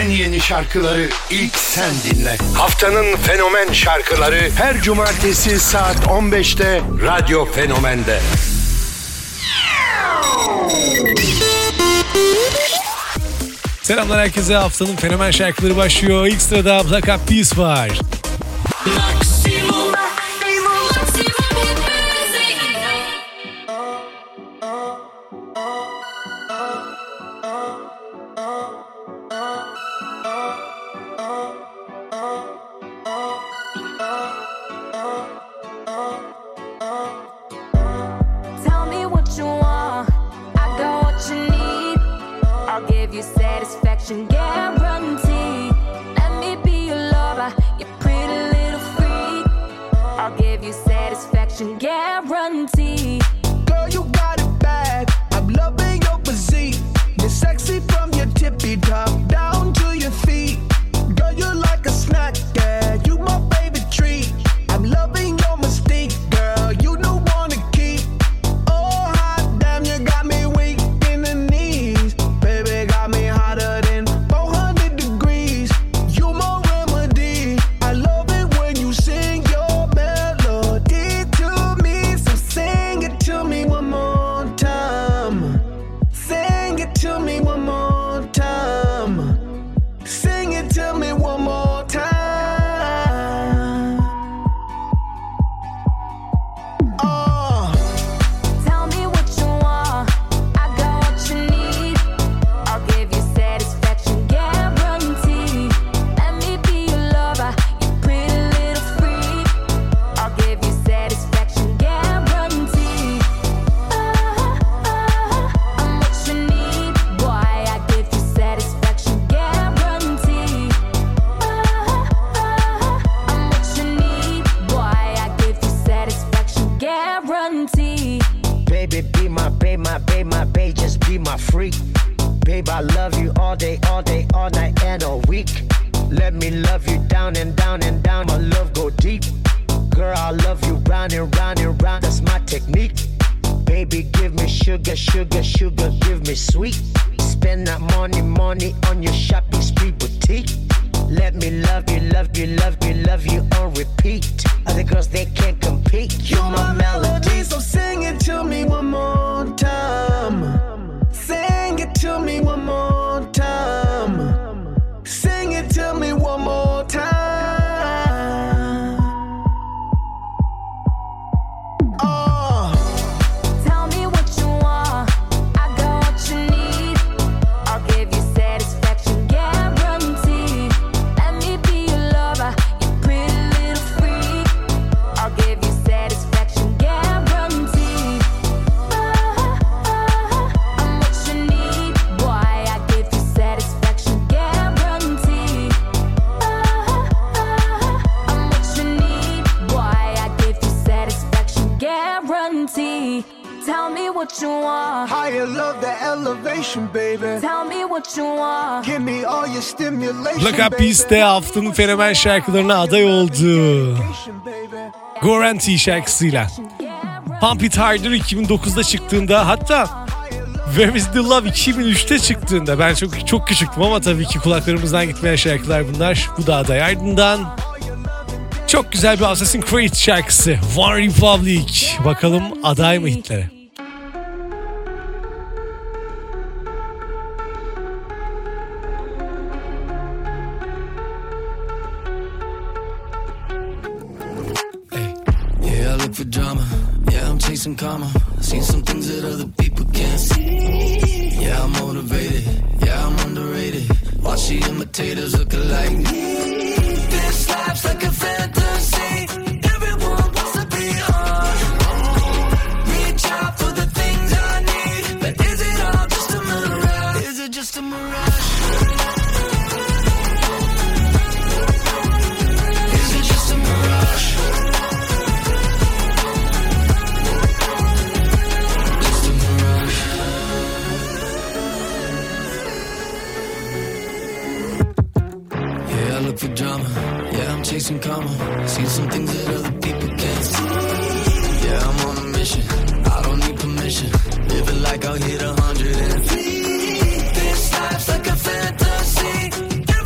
en yeni şarkıları ilk sen dinle. Haftanın fenomen şarkıları her cumartesi saat 15'te Radyo Fenomen'de. Selamlar herkese, haftanın fenomen şarkıları başlıyor. İlk sırada Black Eyed Peas var. Guarantee. Girl, you got it bad. I'm loving your physique. You're sexy from your tippy top down to your feet. Girl, you're like a snack, yeah. You my favorite treat. I'm loving your mystique, girl. You don't wanna keep. Oh, hot damn, you got me weak in the knees. Baby, got me hotter than 400 degrees. You my remedy. I love it when you sing your melody to me. So sing it to me one more time. Sing it to me one more time. Sing it to me one more time. Oh. Tell me what you want. I got what you need. I'll give you satisfaction guarantee. Let me be your lover, you pretty little freak. I'll give you satisfaction guarantee. I'm what you need, boy. I give you satisfaction guarantee. I'm what you need, boy. I give you satisfaction guarantee. Baby, be my babe, my babe, my babe, just be my freak. Babe, I love you all day, all day, all night and all week. Let me love you down and down and down, my love go deep. Girl, I love you round and round and round, that's my technique. Baby, give me sugar, sugar, sugar, give me sweet. Spend that money, money on your shopping spree boutique. Let me love you, love you, love you, love you on repeat. Other girls, they can't compete. You my melody, so sing it to me one more time. Sing it to me one more time. Sing it to me one more time. Oh. Tell me what you want. I got what you need. I'll give you satisfaction guarantee. Let me be your lover, you pretty little freak. I'll give you satisfaction guarantee. I'm what you need, boy. I give you satisfaction guarantee. I'm what you need, boy. I give you satisfaction guarantee. Tell me what you want. Higher love, the elevation, baby. Tell me what you want. Give me all your stimulation, Black Eyed Peas de haftanın fenomen şarkılarına aday oldu. Guarantee şarkısıyla. Pump It Harder 2009'da çıktığında, hatta Where Is The Love 2003'te çıktığında, ben çok küçüktüm ama tabii ki kulaklarımızdan gitmeyen şarkılar bunlar. Bu da aday. Ardından çok güzel bir Assassin's Creed şarkısı One Republic. Bakalım aday mı hitlere? Yeah, I look for drama. Yeah, I'm chasing karma. Seen some things that other people can't see. Yeah, I'm motivated. Yeah, I'm underrated. Watch the imitators look alike me. This life's like a fantasy. Everyone wants to be on. Reach out for the things I need. But is it all just a mirage? Is it just a mirage? Is it just a mirage? Just a mirage. Yeah, I look for drama. Yeah, I'm chasing karma. Seen some things that other people can't see. Yeah, I'm on a mission. I don't need permission. Living like I'll hit 100 and flee. This life's like a fantasy.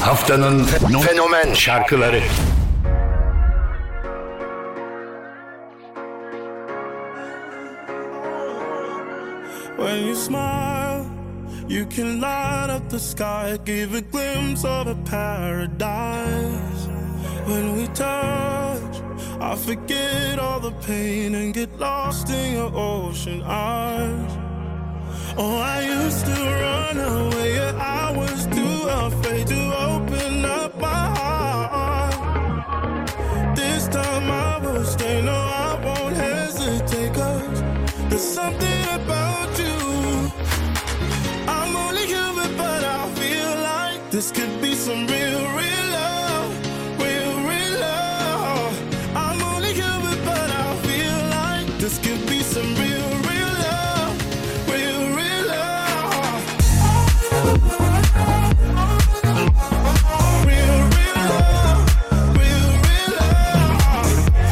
Haftanın fenomen şarkıları. When you smile, you can light up the sky, give a glimpse of a paradise. When we touch, I forget all the pain and get lost in your ocean eyes. Oh, I used to run away, yeah, I was too afraid to open up my heart. This time I will stay, no, I won't hesitate, 'cause there's something about you. I'm only human, but I feel like this could be some real, real love, real, real love. I'm only human, but I feel like this could be some real, real love, real, real love. Real, real love, real, real love.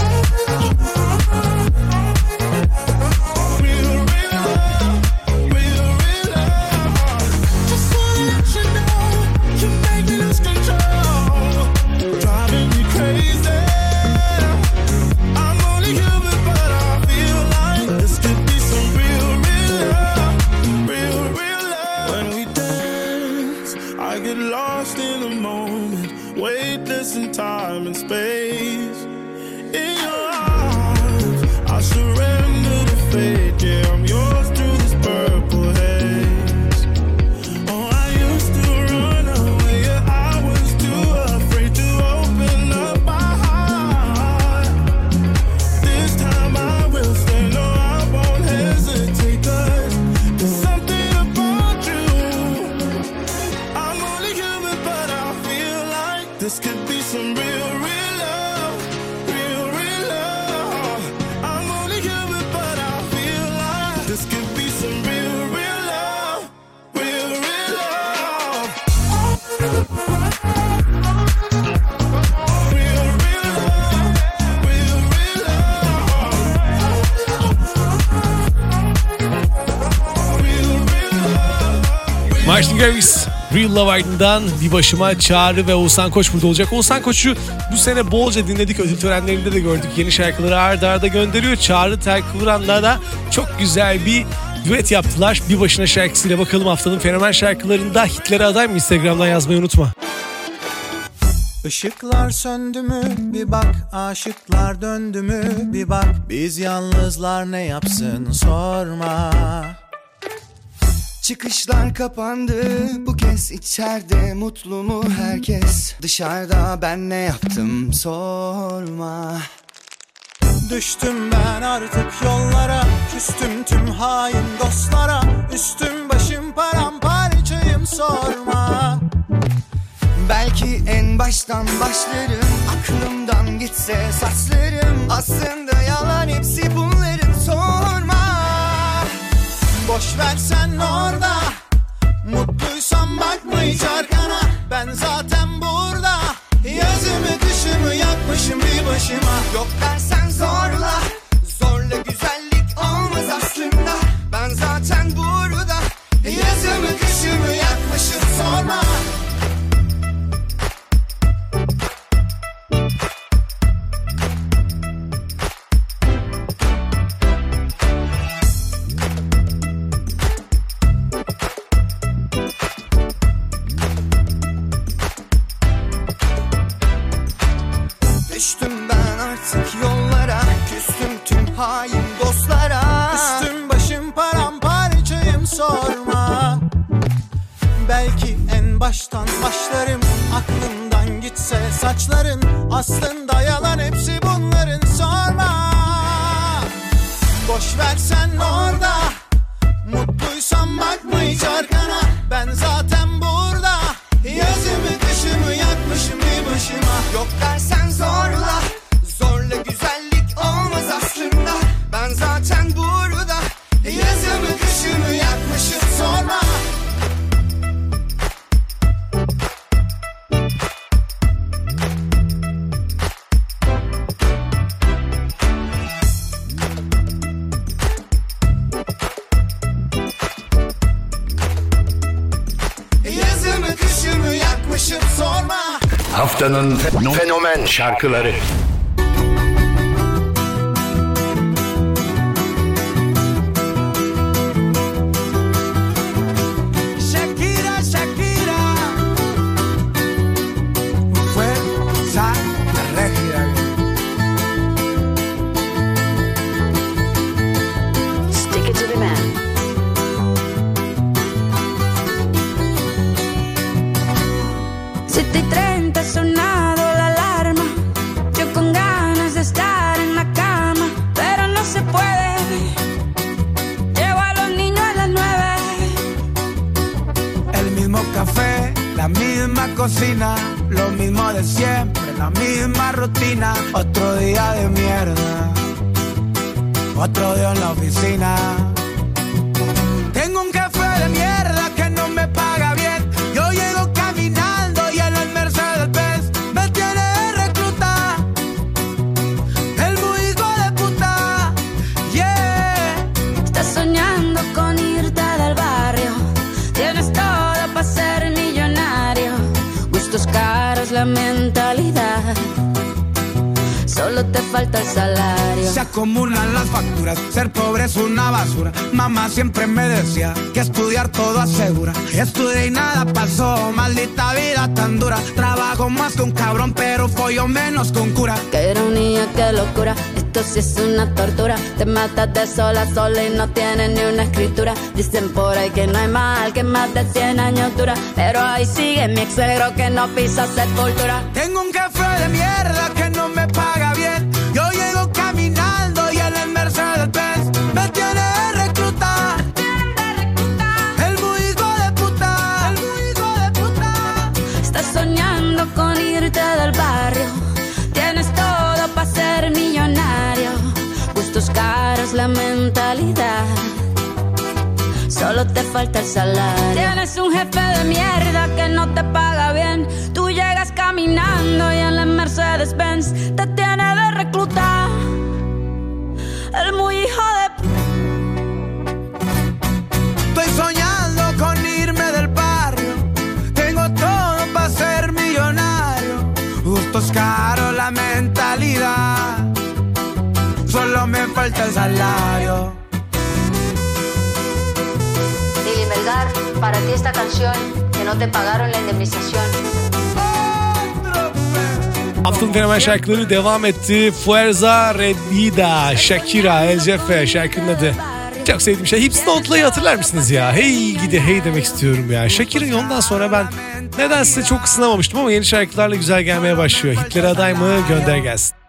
Real, real love, real, real love. Just wanna let you know, you're making us control, driving me crazy. I'm only human, but I feel like this could be some real, real love, real, real love. When we dance, I get lost in the moment, weightless in time and space. In your arms, I surrender to fate. Yeah, I'm yours through this purple haze. Oh, I used to run away, yeah, I was too afraid to open up my heart. This time I will stay, no, I won't hesitate, 'cause there's something about you. I'm only human, but I feel like this could be some real, real love, real, real love. I'm only human, but I feel like this could be some real, real love, real, real love. Real, real love, real, real love. Real, real love. Martin Garrix, Real Love ardından bir başıma Çağrı ve Oğuzhan Koç burada olacak. Oğuzhan Koç'u bu sene bolca dinledik. Ödül törenlerinde de gördük. Yeni şarkıları arda arda gönderiyor. Çağrı Terkıvran'la da çok güzel bir düet yaptılar. Bir başına şarkısıyla bakalım haftanın fenomen şarkılarında hitlere aday mı? Instagram'dan yazmayı unutma. Işıklar söndü mü bir bak, aşıklar döndü mü bir bak. Biz yalnızlar ne yapsın sorma. Çıkışlar kapandı bu kez, içeride mutlu mu herkes? Dışarıda ben ne yaptım sorma. Düştüm ben artık yollara, küstüm tüm hain dostlara. Üstüm başım paramparçayım sorma. Belki en baştan başlarım, aklımdan gitse saçlarım. Aslında yalan hepsi bunların sorma. Boş versen orada, mutluysan bakma hiç arkana. Ben zaten burada, yazımı kışımı yakmışım bir başıma. Yok dersen zorla, zorla güzellik olmaz aslında. Ben zaten burada, yazımı kışımı yakmışım sorma. Düştüm ben artık yollara, küstüm tüm hain dostlara. Üstüm başım paramparçayım sorma. Belki en baştan başlarım, aklımdan gitse saçların. Aslında yalan hepsi bunların sorma. Boş versen orada, mutluysan bakma hiç arkana. Ben zaten burada, yazımı kışımı yakmışım bir başıma. Yok dersen zorla, zorla güzellik olmaz aslında. Ben zaten burada, yazımı kışımı yakmışım sorma. Yazımı kışımı yakmışım sorma. Haftanın fenomen şarkıları. Shakira, Shakira. Fuerza Régida. Stick it to the man. Siete y 30 ha sonado la alarma. Yo con ganas de estar en la cama, pero no se puede. Llevo a los niños a las 9. El mismo café, la misma cocina, lo mismo de siempre, la misma rutina. Otro día de mierda, otro día en la oficina. Tengo un jefe de mierda que no me paga bien. Yo llego caminando y en el Mercedes-Benz me tiene de recluta. El muy hijo de puta, yeah. Estás soñando con irte del barrio. Tienes todo para ser millonario. Gustos caros, la mentalidad. Solo te falta el salario. Se acumulan las facturas, ser pobre es una basura. Mamá siempre me decía que estudiar todo asegura. Estudié y nada pasó, maldita vida tan dura. Trabajo más que un cabrón, pero follo menos que un cura. Qué ironía, qué locura. Esto sí es una tortura. Te matas de sol a sol y no tienes ni una escritura. Dicen por ahí que no hay mal que más de 100 años dura, pero ahí sigue mi ex suegro que no pisa sepultura. Tengo un jefe de mierda que no me paga bien. Yo llego caminando y en el Mercedes-Benz me tiene de recluta. El muy hijo de puta, el muy hijo de puta. Estás soñando con irte del barrio. Tienes todo para ser millonario. Gustos caros, la mentalidad. Solo te falta el salario. Tienes un jefe de mierda que no te paga bien. Tú llegas caminando y en la Mercedes-Benz te tiene de recluta. El muy hijo de... Estoy soñando con irme del barrio. Tengo todo para ser millonario. Gustos caros, la mentalidad. Solo me falta el salario. Lili Melgar, para ti esta canción, que no te pagaron la indemnización. Haftanın fenomen şarkıları devam etti. Fuerza Régida, Shakira, El Jefe şarkının adı. Çok sevdiğim şey. Hips Note'layı hatırlar mısınız ya? Hey gidi hey demek istiyorum ya. Shakira'yı ondan sonra ben nedense çok ısınamamıştım ama yeni şarkılarla güzel gelmeye başlıyor. Hitlere aday mı? Gönder gelsin.